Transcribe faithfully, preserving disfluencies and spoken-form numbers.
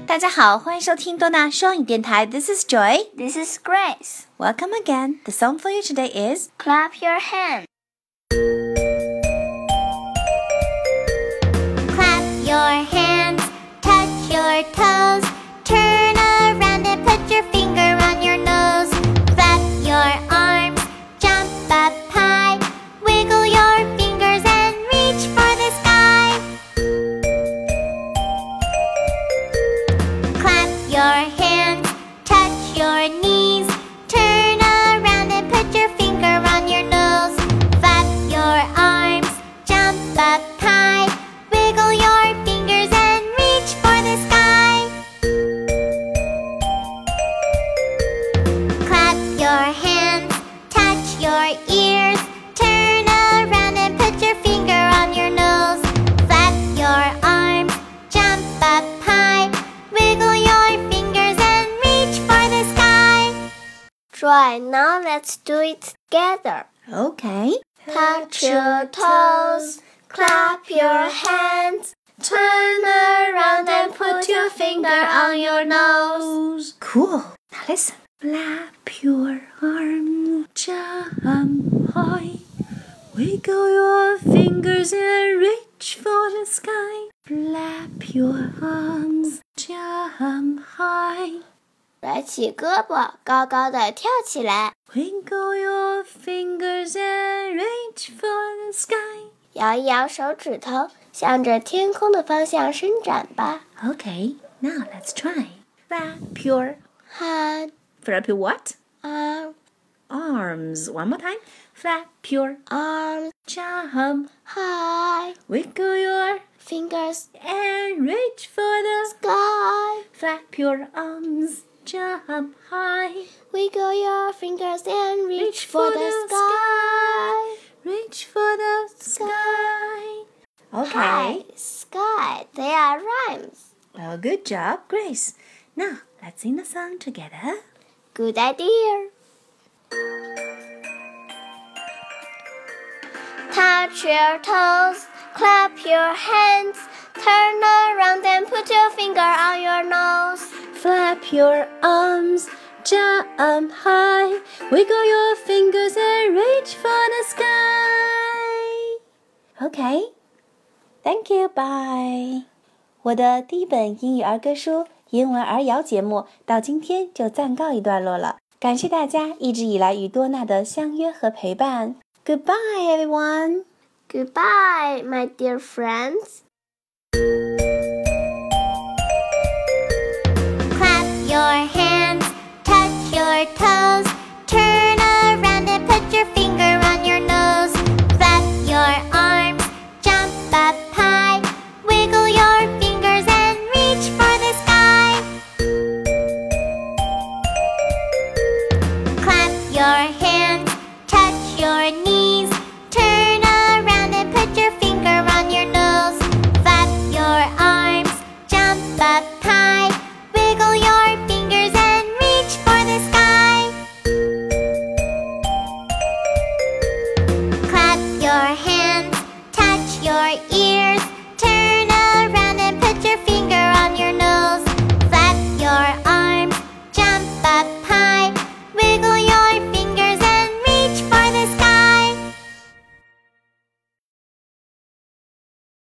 大家好，欢迎收听多纳双语电台。This is Joy. This is Grace. Welcome again. The song for you today is Clap your hands. Clap your hands, touch your toes, turn around and put your finger on your nose. Flap your arms, jump up high, wiggle your fingers and reach for the sky. Clap your hands, touch your knees, turn around and put your finger on your nose. Flap your arms, jump up high, wiggle your fingers and reach for the sky. Clap your hands, touch your ears, turn around and put your finger on your nose. Flap your arms, jump up high, wiggle your fingers and reach for the sky. Joy, now let's do it together. Okay. Touch your toes, clap your hands, turn around and put your finger on your nose. Cool. Now listen. Flap your arms, jump high, wiggle your fingers and reach for the sky. Flap your arms, jump high, 甩起胳膊，高高的跳起来， wiggle your fingers and reach for the sky. 摇一摇手指头，向着天空的方向伸展吧。 Okay, now let's try. Flap your, hand, flap your what? arm, Arms. One more time. Flap your, arms, jump, high, wiggle your, fingers, and reach for the sky. Flap your arms, jump high, Wiggle your fingers and reach, reach for, for the, the sky. reach for the sky. Okay. Hi, sky. They are rhymes. Well, good job, Grace. Now, let's sing the song together. Good idea. Touch your toes, clap your hands, turn around and put your finger on your nose. Flap your arms, jump high, wiggle your fingers and reach for the sky. Okay. Thank you, bye. 我的第一本英语儿歌书《英文儿谣》节目到今天就暂告一段落了。感谢大家一直以来与多娜的相约和陪伴。Goodbye, everyone. Goodbye, my dear friends.